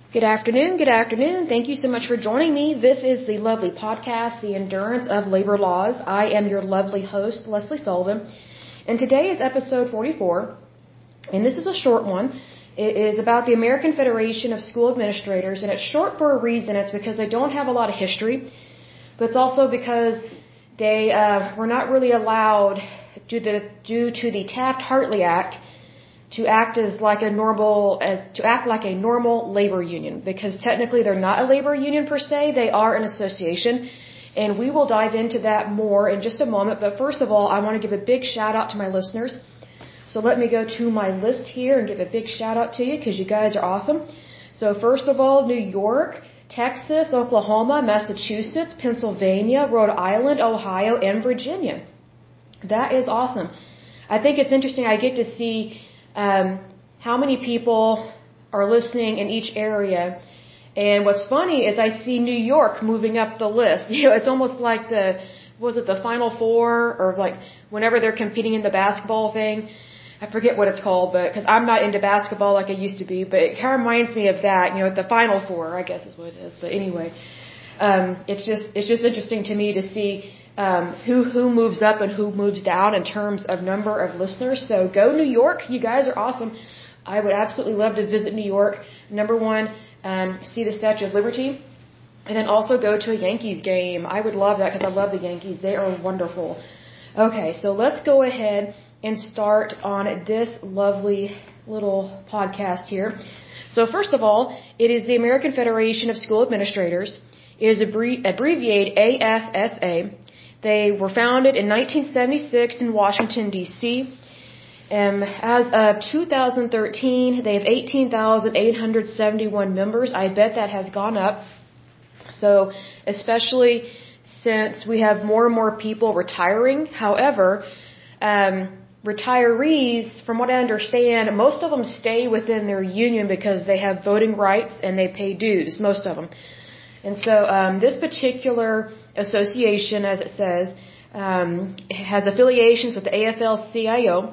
Good afternoon. Good afternoon. Thank you so much for joining me. This is the lovely podcast, The Endurance of Labor Laws. I am your lovely host, Leslie Sullivan. And today is episode 44. And this is a short one. It is about the American Federation of School Administrators. And it's short for a reason. It's because they don't have a lot of history. But it's also because they were not really allowed, due to the Taft-Hartley Act, to act like a normal labor union, because technically they're not a labor union per se, they are an association, and we will dive into that more in just a moment. But first of all, I want to give a big shout out to my listeners. So let me go to my list here and give a big shout out to you, because you guys are awesome. So first of all, New York, Texas, Oklahoma, Massachusetts, Pennsylvania, Rhode Island, Ohio, and Virginia. That is awesome. I think it's interesting. I get to see how many people are listening in each area. And what's funny is I see New York moving up the list. You know, it's almost like the Final Four, or like whenever they're competing in the basketball thing. I forget what it's called, but because I'm not into basketball like I used to be, but it kind of reminds me of that. You know, the Final Four, I guess is what it is. But anyway, it's just interesting to me to see who moves up and who moves down in terms of number of listeners. So go New York. You guys are awesome. I would absolutely love to visit New York. Number one, see the Statue of Liberty, and then also go to a Yankees game. I would love that because I love the Yankees. They are wonderful. Okay, so let's go ahead and start on this lovely little podcast here. So first of all, it is the American Federation of School Administrators. It is abbreviated AFSA. They were founded in 1976 in Washington, D.C. As of 2013, they have 18,871 members. I bet that has gone up. So, especially since we have more and more people retiring. However, retirees, from what I understand, most of them stay within their union because they have voting rights and they pay dues, most of them. And so this particular association, as it says, has affiliations with the AFL-CIO.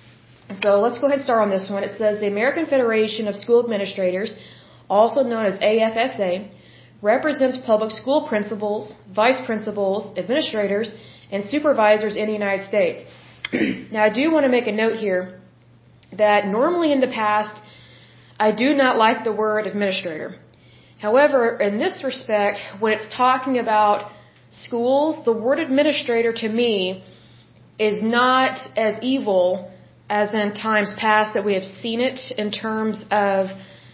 So let's go ahead and start on this one. It says the American Federation of School Administrators, also known as AFSA, represents public school principals, vice principals, administrators, and supervisors in the United States. Now, I do want to make a note here that normally in the past, I do not like the word administrator. However, in this respect, when it's talking about schools, the word administrator to me is not as evil as in times past that we have seen it in terms of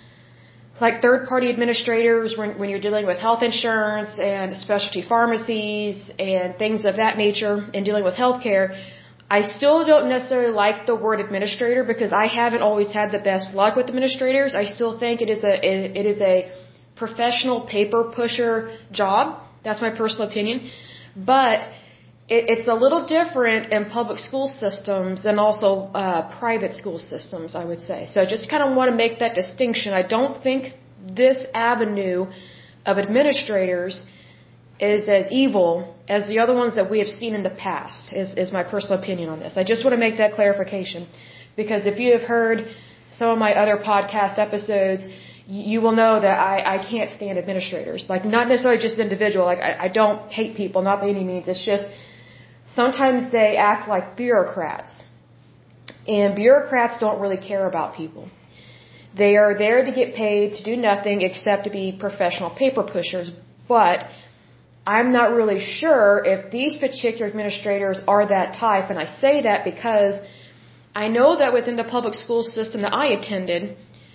like third-party administrators when you're dealing with health insurance and specialty pharmacies and things of that nature and dealing with healthcare. I still don't necessarily like the word administrator because I haven't always had the best luck with administrators. I still think it is a professional paper pusher job. That's my personal opinion. But it's a little different in public school systems than also private school systems, I would say. So I just kind of want to make that distinction. I don't think this avenue of administrators is as evil as the other ones that we have seen in the past, is my personal opinion on this. I just want to make that clarification. Because if you have heard some of my other podcast episodes, you will know that I can't stand administrators. Like, not necessarily just individual. Like, I don't hate people, not by any means. It's just sometimes they act like bureaucrats. And bureaucrats don't really care about people. They are there to get paid to do nothing except to be professional paper pushers. But I'm not really sure if these particular administrators are that type. And I say that because I know that within the public school system that I attended,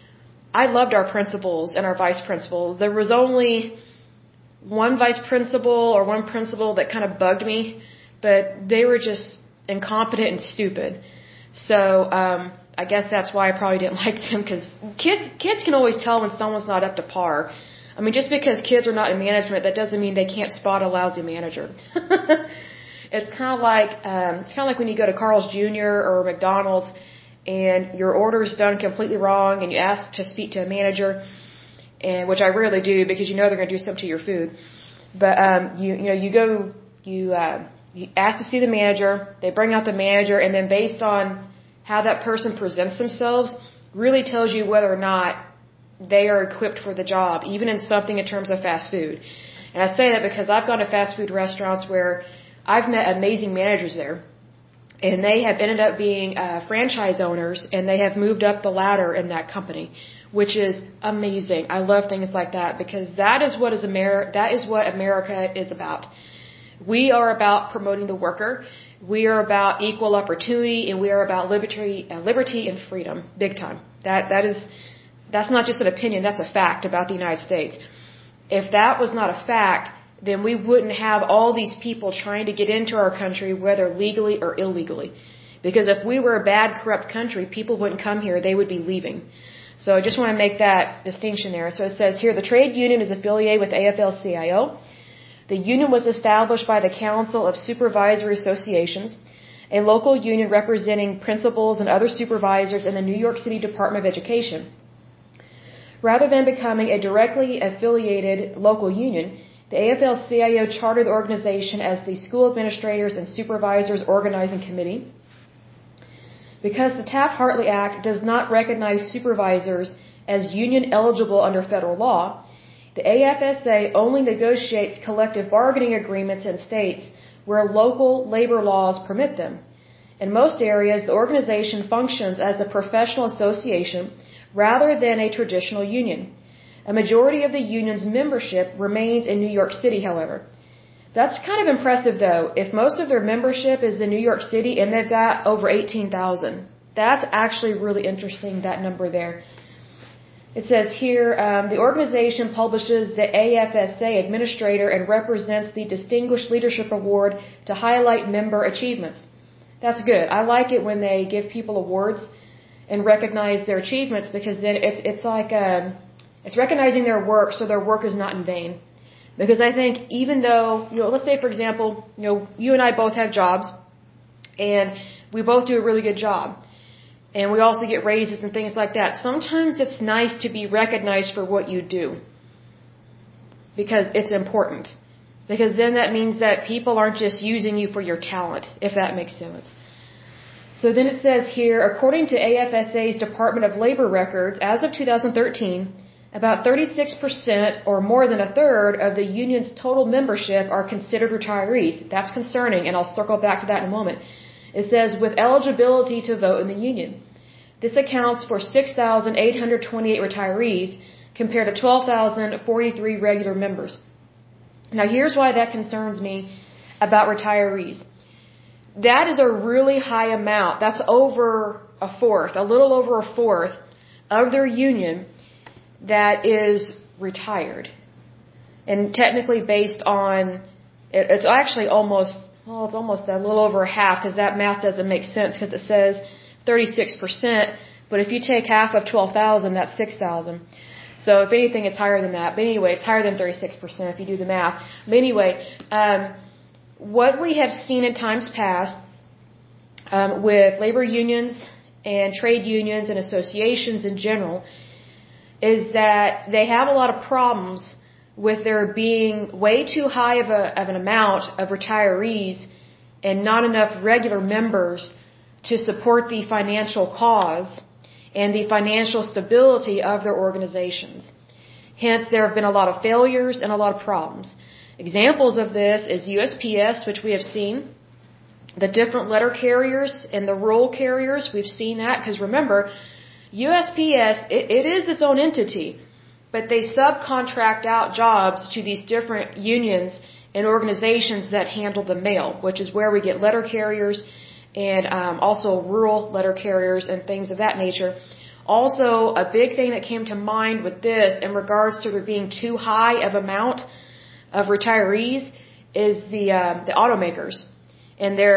I loved our principals and our vice principal. There was only one vice principal or one principal that kind of bugged me, but they were just incompetent and stupid. So I guess that's why I probably didn't like them, because kids can always tell when someone's not up to par. I mean, just because kids are not in management, that doesn't mean they can't spot a lousy manager. It's kind of like when you go to Carl's Jr. or McDonald's and your order's done completely wrong and you ask to speak to a manager, and which I rarely do because you know they're going to do something to your food. But you ask to see the manager, they bring out the manager, and then based on how that person presents themselves really tells you whether or not they are equipped for the job, even in something in terms of fast food. And I say that because I've gone to fast food restaurants where I've met amazing managers there, and they have ended up being franchise owners, and they have moved up the ladder in that company, which is amazing. I love things like that because that is what America is about. We are about promoting the worker. We are about equal opportunity, and we are about liberty and freedom, big time. That's not just an opinion, that's a fact about the United States. If that was not a fact, then we wouldn't have all these people trying to get into our country, whether legally or illegally. Because if we were a bad, corrupt country, people wouldn't come here, they would be leaving. So I just want to make that distinction there. So it says here, the trade union is affiliated with AFL-CIO. The union was established by the Council of Supervisory Associations, a local union representing principals and other supervisors in the New York City Department of Education. Rather than becoming a directly affiliated local union, the AFL-CIO chartered the organization as the School Administrators and Supervisors Organizing Committee. Because the Taft-Hartley Act does not recognize supervisors as union eligible under federal law, the AFSA only negotiates collective bargaining agreements in states where local labor laws permit them. In most areas, the organization functions as a professional association rather than a traditional union. A majority of the union's membership remains in New York City, however. That's kind of impressive, though. If most of their membership is in New York City and they've got over 18,000, that's actually really interesting, that number there. It says here, the organization publishes the AFSA Administrator and represents the Distinguished Leadership Award to highlight member achievements. That's good. I like it when they give people awards and recognize their achievements, because then it's like it's recognizing their work, so their work is not in vain. Because I think even though, let's say for example, you and I both have jobs, and we both do a really good job, and we also get raises and things like that. Sometimes it's nice to be recognized for what you do, because it's important. Because then that means that people aren't just using you for your talent, if that makes sense. So then it says here, according to AFSA's Department of Labor records, as of 2013, about 36% or more than a third of the union's total membership are considered retirees. That's concerning, and I'll circle back to that in a moment. It says, with eligibility to vote in the union. This accounts for 6,828 retirees compared to 12,043 regular members. Now here's why that concerns me about retirees. That is a really high amount. That's over a fourth, a little over a fourth of their union that is retired. And technically based on, it's actually almost a little over half, because that math doesn't make sense, because it says 36%, but if you take half of 12,000, that's 6,000. So if anything, it's higher than that. But anyway, it's higher than 36% if you do the math. But anyway, what we have seen in times past with labor unions and trade unions and associations in general is that they have a lot of problems with there being way too high of an amount of retirees and not enough regular members to support the financial cause and the financial stability of their organizations. Hence, there have been a lot of failures and a lot of problems. Examples of this is USPS, which we have seen, the different letter carriers and the rural carriers. We've seen that because remember, USPS, it is its own entity, but they subcontract out jobs to these different unions and organizations that handle the mail, which is where we get letter carriers and also rural letter carriers and things of that nature. Also, a big thing that came to mind with this in regards to there being too high of amount of retirees is the automakers and their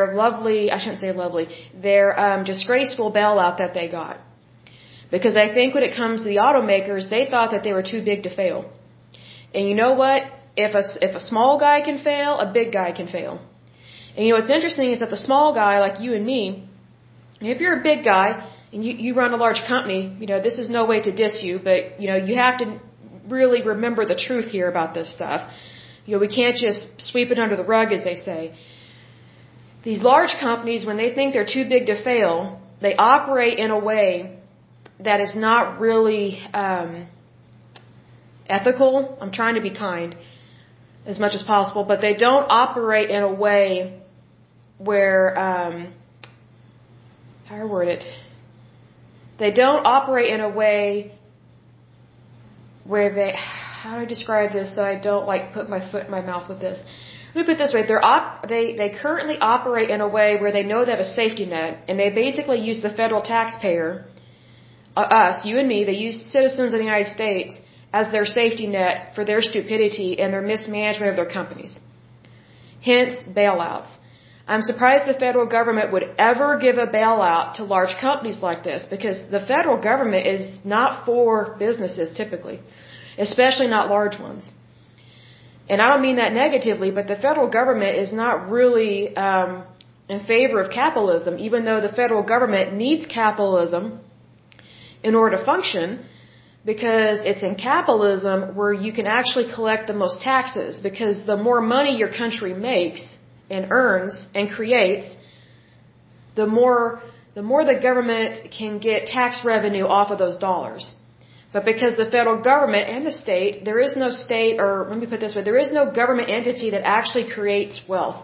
their disgraceful bailout that they got. Because I think when it comes to the automakers, they thought that they were too big to fail. And you know what? If a small guy can fail, a big guy can fail. And what's interesting is that the small guy, like you and me, if you're a big guy and you run a large company, this is no way to diss you, but you have to really remember the truth here about this stuff. We can't just sweep it under the rug, as they say. These large companies, when they think they're too big to fail, they operate in a way that is not really ethical. I'm trying to be kind as much as possible, but they don't operate in a way where, how do I word it? They don't operate in a way where they, how do I describe this so I don't like put my foot in my mouth with this? Let me put it this way, they currently operate in a way where they know they have a safety net, and they basically use the federal taxpayer, us, you and me, they use citizens of the United States as their safety net for their stupidity and their mismanagement of their companies. Hence, bailouts. I'm surprised the federal government would ever give a bailout to large companies like this, because the federal government is not for businesses typically, especially not large ones. And I don't mean that negatively, but the federal government is not really in favor of capitalism, even though the federal government needs capitalism in order to function, because it's in capitalism where you can actually collect the most taxes, because the more money your country makes and earns and creates, the more the government can get tax revenue off of those dollars. But because the federal government and the state, there is no state, or let me put it this way, there is no government entity that actually creates wealth.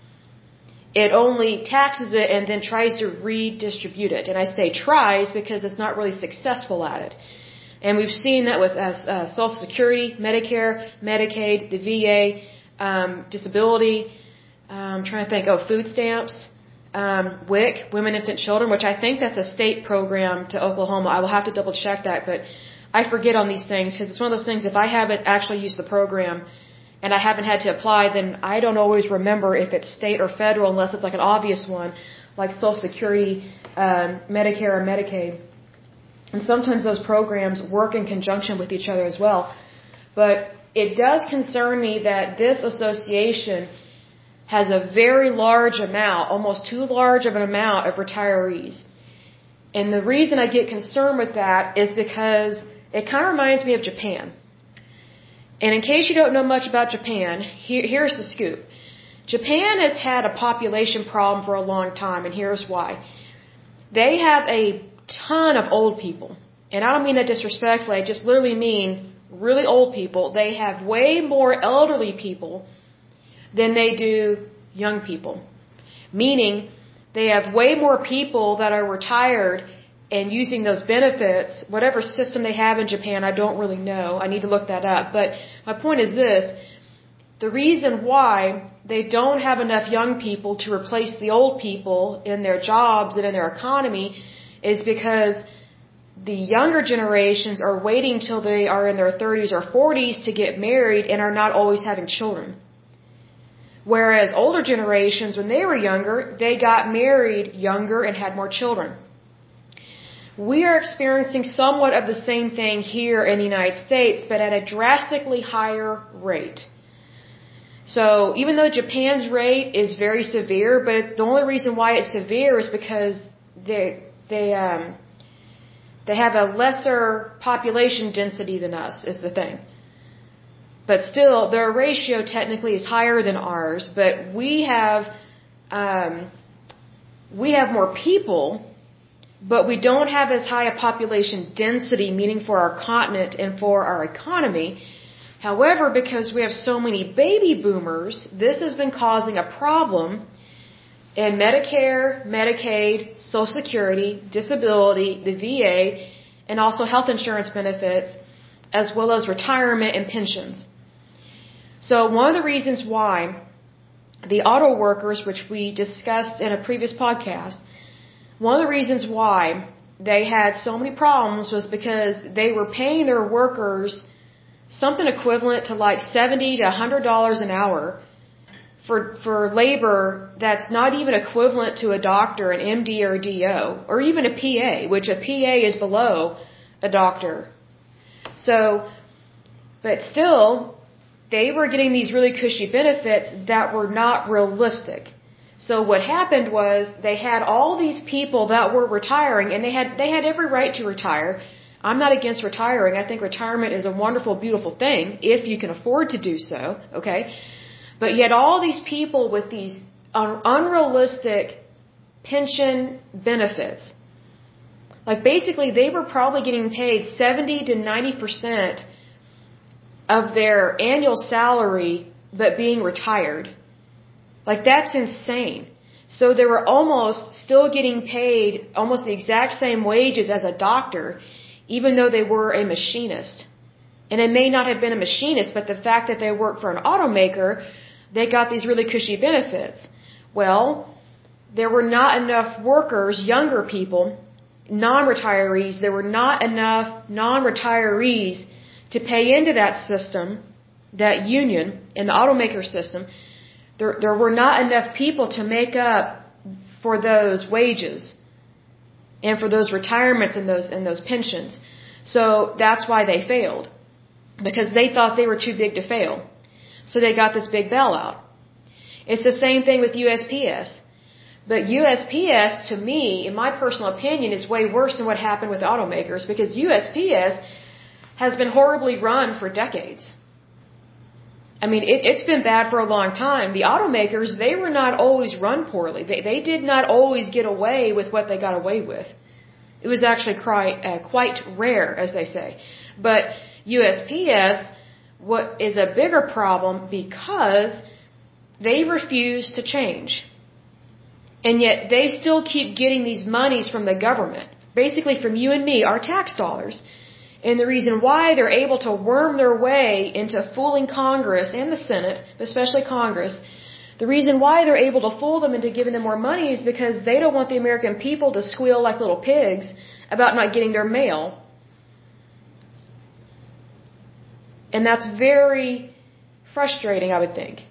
It only taxes it and then tries to redistribute it. And I say tries because it's not really successful at it. And we've seen that with Social Security, Medicare, Medicaid, the VA, disability, I'm trying to think, food stamps, WIC, Women, Infant, Children, which I think that's a state program to Oklahoma. I will have to double check that, but I forget on these things because it's one of those things, if I haven't actually used the program and I haven't had to apply, then I don't always remember if it's state or federal unless it's like an obvious one, like Social Security, Medicare, or Medicaid. And sometimes those programs work in conjunction with each other as well. But it does concern me that this association has a very large amount, almost too large of an amount of retirees. And the reason I get concerned with that is because it kind of reminds me of Japan. And in case you don't know much about Japan, here's the scoop. Japan has had a population problem for a long time, and here's why. They have a ton of old people. And I don't mean that disrespectfully, I just literally mean really old people. They have way more elderly people than they do young people. Meaning, they have way more people that are retired and using those benefits, whatever system they have in Japan, I don't really know. I need to look that up. But my point is this. The reason why they don't have enough young people to replace the old people in their jobs and in their economy is because the younger generations are waiting till they are in their 30s or 40s to get married and are not always having children. Whereas older generations, when they were younger, they got married younger and had more children. We are experiencing somewhat of the same thing here in the United States, but at a drastically higher rate. So even though Japan's rate is very severe, but the only reason why it's severe is because they have a lesser population density than us, is the thing. But still, their ratio technically is higher than ours, but we have more people, but we don't have as high a population density, meaning for our continent and for our economy. However, because we have so many baby boomers, this has been causing a problem in Medicare, Medicaid, Social Security, disability, the VA, and also health insurance benefits, as well as retirement and pensions. So one of the reasons why the auto workers, which we discussed in a previous podcast, one of the reasons why they had so many problems was because they were paying their workers something equivalent to like $70 to $100 an hour for labor that's not even equivalent to a doctor, an MD or a DO, or even a PA, which a PA is below a doctor. So, but still, they were getting these really cushy benefits that were not realistic. So what happened was they had all these people that were retiring, and they had every right to retire. I'm not against retiring. I think retirement is a wonderful, beautiful thing if you can afford to do so, okay? But yet all these people with these unrealistic pension benefits, like basically they were probably getting paid 70 to 90% of their annual salary but being retired. Like, that's insane. So they were almost still getting paid almost the exact same wages as a doctor, even though they were a machinist. And they may not have been a machinist, but the fact that they worked for an automaker, they got these really cushy benefits. Well, there were not enough workers, younger people, non-retirees, there were not enough non-retirees to pay into that system, that union, in the automaker system. There were not enough people to make up for those wages and for those retirements and those pensions. So that's why they failed, because they thought they were too big to fail. So they got this big bailout. It's the same thing with USPS. But USPS, to me, in my personal opinion, is way worse than what happened with automakers, because USPS has been horribly run for decades. I mean, it's been bad for a long time. The automakers, they were not always run poorly. They did not always get away with what they got away with. It was actually quite rare, as they say. But USPS, what is a bigger problem, because they refuse to change. And yet they still keep getting these monies from the government, basically from you and me, our tax dollars. And the reason why they're able to worm their way into fooling Congress and the Senate, especially Congress, the reason why they're able to fool them into giving them more money is because they don't want the American people to squeal like little pigs about not getting their mail. And that's very frustrating, I would think.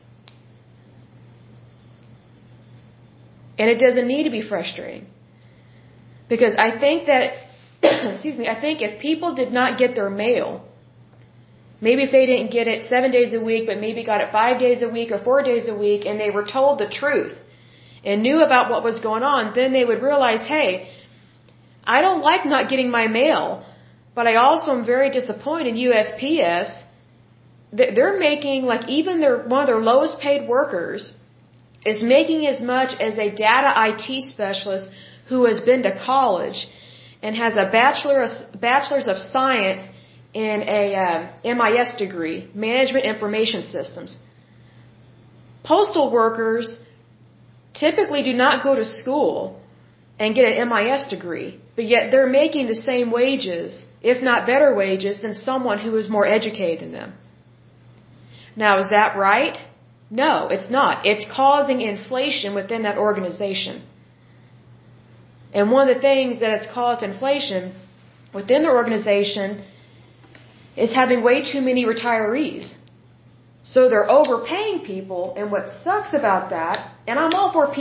And it doesn't need to be frustrating. Because I think that, excuse me, I think if people did not get their mail, maybe if they didn't get it 7 days a week, but maybe got it 5 days a week or 4 days a week, and they were told the truth and knew about what was going on, then they would realize, hey, I don't like not getting my mail, but I also am very disappointed in USPS. They're making, like, even one of their lowest paid workers is making as much as a data IT specialist who has been to college and has a bachelor's of science in a MIS degree, Management Information Systems. Postal workers typically do not go to school and get an MIS degree, but yet they're making the same wages, if not better wages, than someone who is more educated than them. Now, is that right? No, it's not. It's causing inflation within that organization. And one of the things that has caused inflation within the organization is having way too many retirees. So they're overpaying people, and what sucks about that, and I'm all for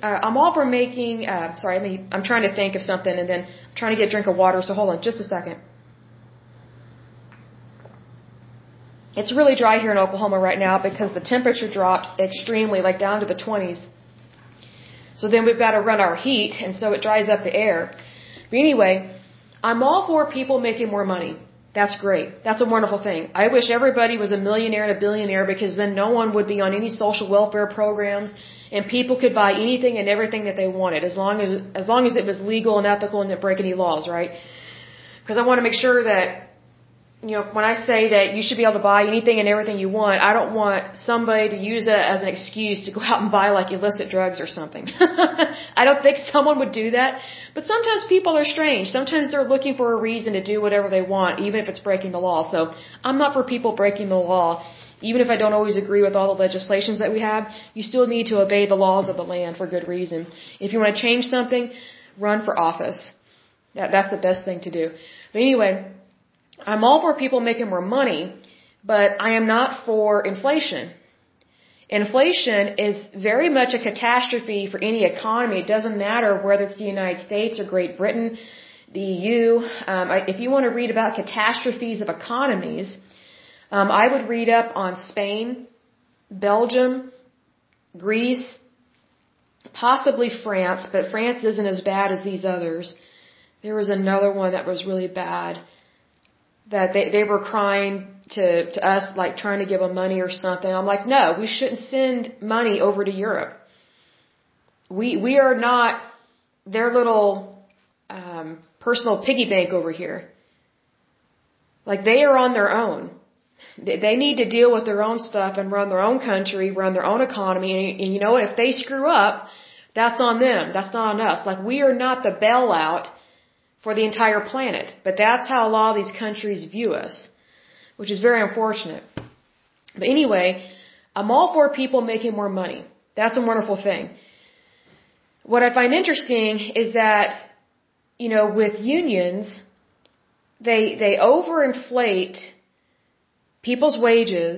I'm trying to think of something, and then I'm trying to get a drink of water, so hold on just a second. It's really dry here in Oklahoma right now because the temperature dropped extremely, like down to the 20s. So then we've got to run our heat, and so it dries up the air. But anyway, I'm all for people making more money. That's great. That's a wonderful thing. I wish everybody was a millionaire and a billionaire, because then no one would be on any social welfare programs, and people could buy anything and everything that they wanted, as long as it was legal and ethical and didn't break any laws, right? Because I want to make sure that, you know, when I say that you should be able to buy anything and everything you want, I don't want somebody to use it as an excuse to go out and buy, like, illicit drugs or something. I don't think someone would do that. But sometimes people are strange. Sometimes they're looking for a reason to do whatever they want, even if it's breaking the law. So I'm not for people breaking the law. Even if I don't always agree with all the legislations that we have, you still need to obey the laws of the land for good reason. If you want to change something, run for office. That's the best thing to do. But anyway, I'm all for people making more money, but I am not for inflation. Inflation is very much a catastrophe for any economy. It doesn't matter whether it's the United States or Great Britain, the EU. If you want to read about catastrophes of economies, I would read up on Spain, Belgium, Greece, possibly France, but France isn't as bad as these others. There was another one that was really bad, that they were crying to us, like trying to give them money or something. I'm like, no, we shouldn't send money over to Europe. We are not their little personal piggy bank over here. Like, they are on their own. They need to deal with their own stuff and run their own country, run their own economy. And you know what? If they screw up, that's on them. That's not on us. Like, we are not the bailout for the entire planet. But that's how a lot of these countries view us, which is very unfortunate. But anyway, I'm all for people making more money. That's a wonderful thing. What I find interesting is that, you know, with unions, they overinflate people's wages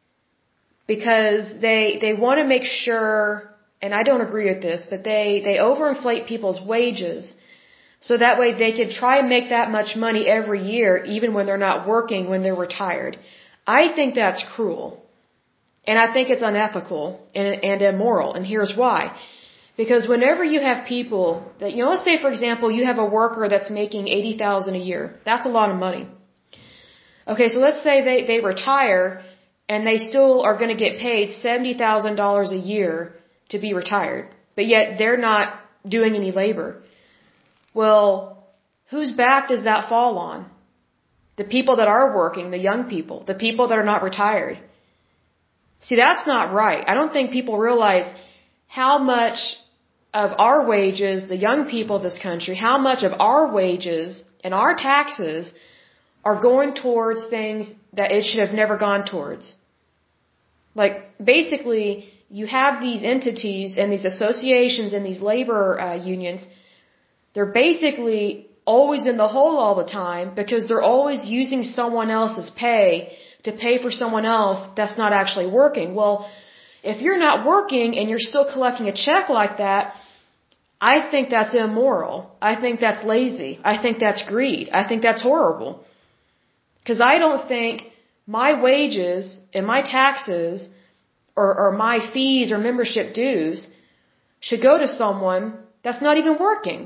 because they want to make sure, and I don't agree with this, but they overinflate people's wages so that way they can try and make that much money every year even when they're not working, when they're retired. I think that's cruel. And I think it's unethical and immoral. And here's why. Because whenever you have people that, you know, let's say, for example, you have a worker that's making $80,000 a year. That's a lot of money. Okay, so let's say they retire and they still are going to get paid $70,000 a year to be retired. But yet they're not doing any labor. Well, whose back does that fall on? The people that are working, the young people, the people that are not retired. See, that's not right. I don't think people realize how much of our wages, the young people of this country, how much of our wages and our taxes are going towards things that it should have never gone towards. Like, basically, you have these entities and these associations and these labor unions. They're basically always in the hole all the time because they're always using someone else's pay to pay for someone else that's not actually working. Well, if you're not working and you're still collecting a check like that, I think that's immoral. I think that's lazy. I think that's greed. I think that's horrible. Because I don't think my wages and my taxes or my fees or membership dues should go to someone that's not even working.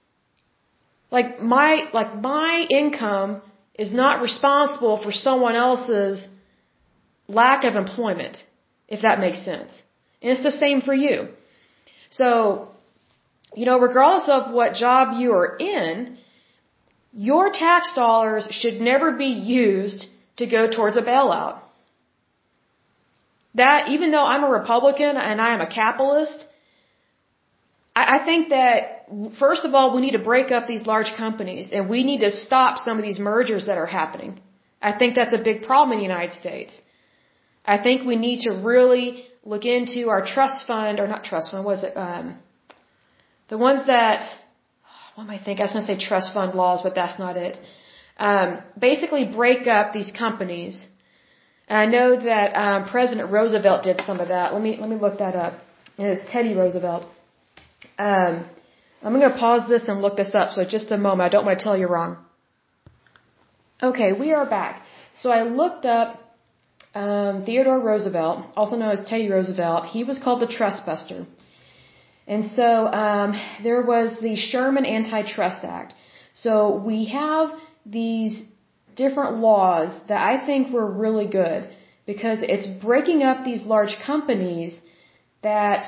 Like my income is not responsible for someone else's lack of employment, if that makes sense. And it's the same for you. So, you know, regardless of what job you are in, your tax dollars should never be used to go towards a bailout. That, even though I'm a Republican and I am a capitalist, I think that, first of all, we need to break up these large companies and we need to stop some of these mergers that are happening. I think that's a big problem in the United States. I think we need to really look into our trust fund, or not trust fund, what is it? The ones that, what am I thinking? I was going to say trust fund laws, but that's not it. Basically break up these companies. And I know that President Roosevelt did some of that. Let me look that up. And it's Teddy Roosevelt. I'm going to pause this and look this up. So just a moment. I don't want to tell you wrong. Okay, we are back. So I looked up Theodore Roosevelt, also known as Teddy Roosevelt. He was called the Trust Buster. And so there was the Sherman Antitrust Act. So we have these different laws that I think were really good because it's breaking up these large companies that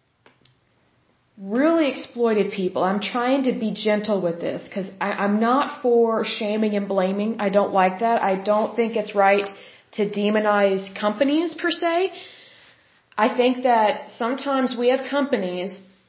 really exploited people. I'm trying to be gentle with this because I'm not for shaming and blaming. I don't like that. I don't think it's right to demonize companies per se. I think that sometimes we have companies,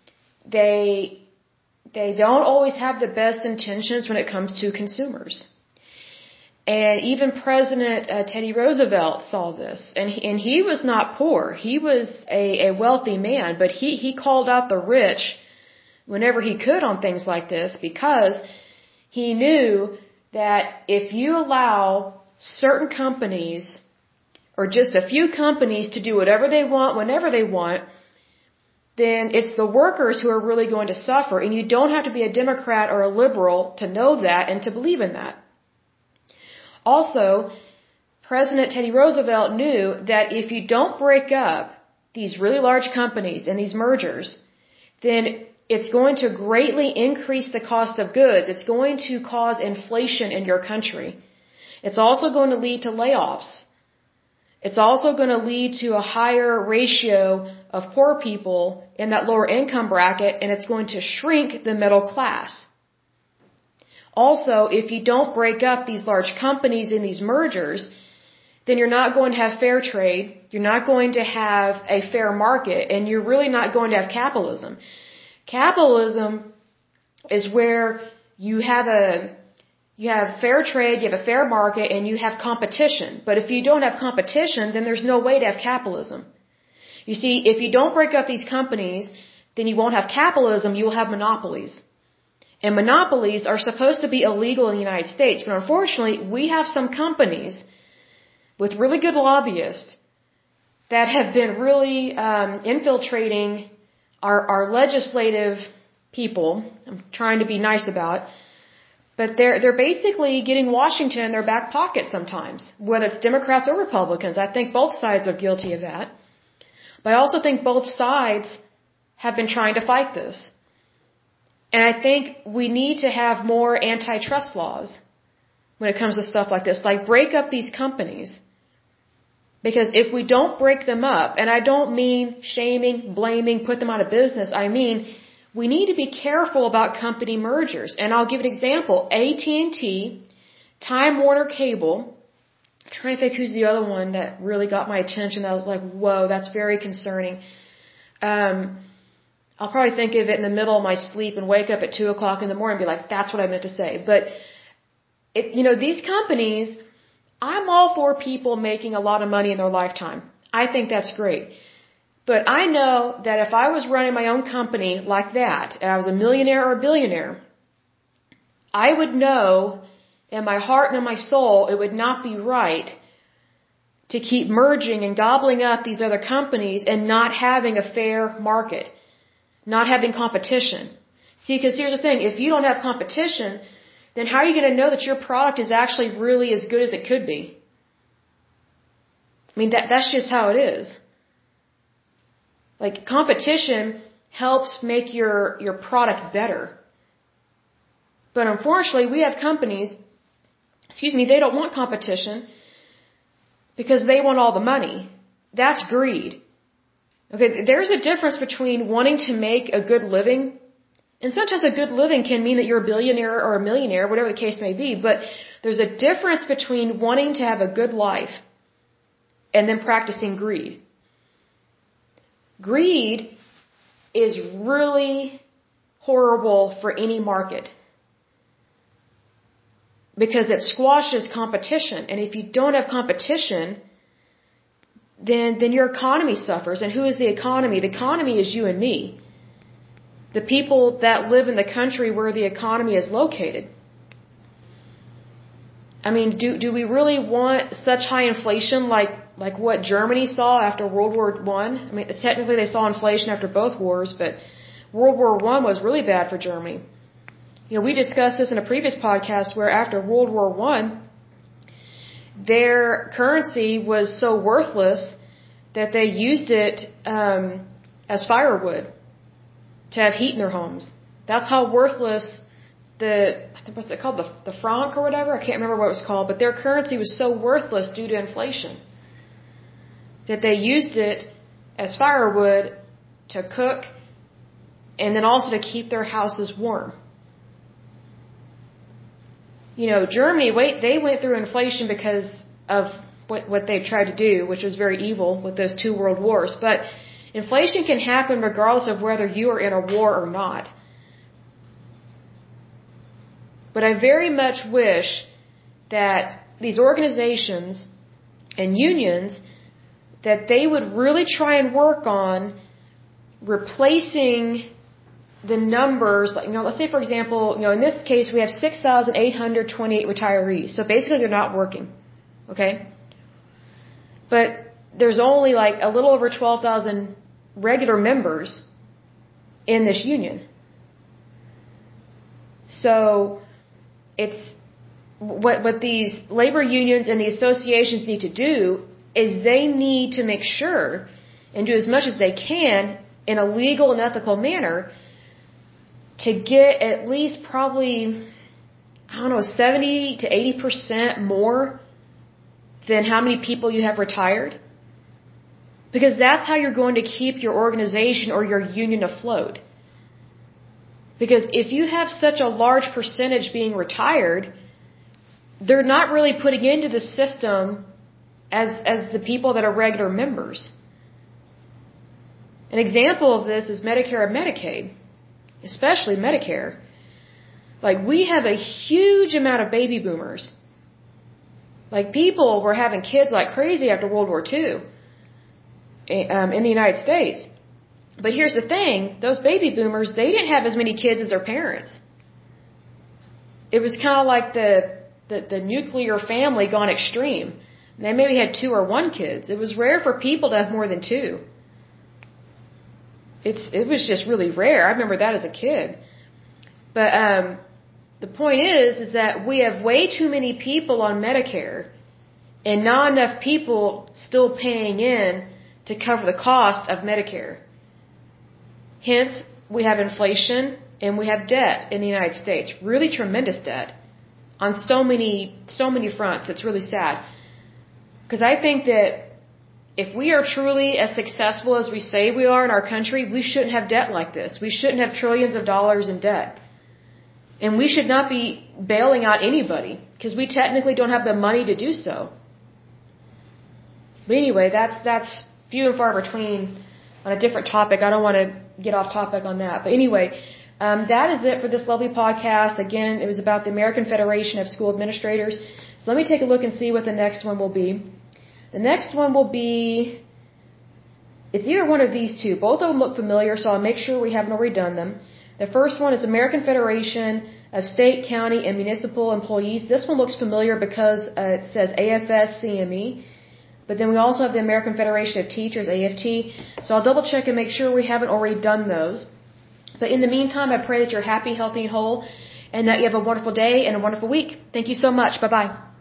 they don't always have the best intentions when it comes to consumers. And even President Teddy Roosevelt saw this. And he was not poor. He was a wealthy man, but he called out the rich whenever he could on things like this because he knew that if you allow certain companies or just a few companies to do whatever they want, whenever they want, then it's the workers who are really going to suffer. And you don't have to be a Democrat or a liberal to know that and to believe in that. Also, President Teddy Roosevelt knew that if you don't break up these really large companies and these mergers, then it's going to greatly increase the cost of goods. It's going to cause inflation in your country. It's also going to lead to layoffs. It's also going to lead to a higher ratio of poor people in that lower income bracket, and it's going to shrink the middle class. Also, if you don't break up these large companies in these mergers, then you're not going to have fair trade, you're not going to have a fair market, and you're really not going to have capitalism. Capitalism is where you have fair trade, you have a fair market, and you have competition. But if you don't have competition, then there's no way to have capitalism. You see, if you don't break up these companies, then you won't have capitalism, you'll have monopolies. And monopolies are supposed to be illegal in the United States, but unfortunately, we have some companies with really good lobbyists that have been really infiltrating our legislative people. I'm trying to be nice about, but they're basically getting Washington in their back pocket sometimes, whether it's Democrats or Republicans. I think both sides are guilty of that. But I also think both sides have been trying to fight this. And I think we need to have more antitrust laws when it comes to stuff like this, like break up these companies. Because if we don't break them up, and I don't mean shaming, blaming, put them out of business, I mean we need to be careful about company mergers. And I'll give an example. AT&T, Time Warner Cable, I'm trying to think who's the other one that really got my attention. I was like, whoa, that's very concerning. I'll probably think of it in the middle of my sleep and wake up at 2 o'clock in the morning and be like, that's what I meant to say. But, these companies, I'm all for people making a lot of money in their lifetime. I think that's great. But I know that if I was running my own company like that, and I was a millionaire or a billionaire, I would know in my heart and in my soul it would not be right to keep merging and gobbling up these other companies and not having a fair market. Not having competition. See, because here's the thing, if you don't have competition, then how are you going to know that your product is actually really as good as it could be? I mean, that's just how it is. Like, competition helps make your product better. But unfortunately, we have companies, they don't want competition because they want all the money. That's greed. Okay, there's a difference between wanting to make a good living, and sometimes a good living can mean that you're a billionaire or a millionaire, whatever the case may be, but there's a difference between wanting to have a good life and then practicing greed. Greed is really horrible for any market because it squashes competition, and if you don't have competition, then your economy suffers. And who is the economy? The economy is you and me. The people that live in the country where the economy is located. I mean, do we really want such high inflation like what Germany saw after World War I? I mean, technically they saw inflation after both wars, but World War I was really bad for Germany. We discussed this in a previous podcast where after World War I, their currency was so worthless that they used it as firewood to have heat in their homes. That's how worthless what's it called, the franc or whatever? I can't remember what it was called, but their currency was so worthless due to inflation that they used it as firewood to cook and then also to keep their houses warm. Germany, they went through inflation because of what they've tried to do, which was very evil with those 2 world wars. But inflation can happen regardless of whether you are in a war or not. But I very much wish that these organizations and unions, that they would really try and work on replacing the numbers, let's say for example, in this case we have 6,828 retirees. So basically they're not working. Okay? But there's only like a little over 12,000 regular members in this union. So it's what these labor unions and the associations need to do is they need to make sure and do as much as they can in a legal and ethical manner to get at least probably, 70 to 80% more than how many people you have retired. Because that's how you're going to keep your organization or your union afloat. Because if you have such a large percentage being retired, they're not really putting into the system as the people that are regular members. An example of this is Medicare and Medicaid, especially Medicare. Like, we have a huge amount of baby boomers. Like, people were having kids like crazy after World War II in the United States. But here's the thing, those baby boomers, they didn't have as many kids as their parents. It was kind of like the nuclear family gone extreme. They maybe had 2 or 1 kids. It was rare for people to have more than 2. It was just really rare. I remember that as a kid. But the point is that we have way too many people on Medicare and not enough people still paying in to cover the cost of Medicare. Hence, we have inflation and we have debt in the United States. Really tremendous debt on so many fronts. It's really sad. Because I think that if we are truly as successful as we say we are in our country, we shouldn't have debt like this. We shouldn't have trillions of dollars in debt. And we should not be bailing out anybody because we technically don't have the money to do so. But anyway, that's few and far between on a different topic. I don't want to get off topic on that. But anyway, that is it for this lovely podcast. Again, it was about the American Federation of School Administrators. So let me take a look and see what the next one will be. The next one will be, it's either one of these two. Both of them look familiar, so I'll make sure we haven't already done them. The first one is American Federation of State, County, and Municipal Employees. This one looks familiar because it says AFS-CME. But then we also have the American Federation of Teachers, AFT. So I'll double check and make sure we haven't already done those. But in the meantime, I pray that you're happy, healthy, and whole, and that you have a wonderful day and a wonderful week. Thank you so much. Bye-bye.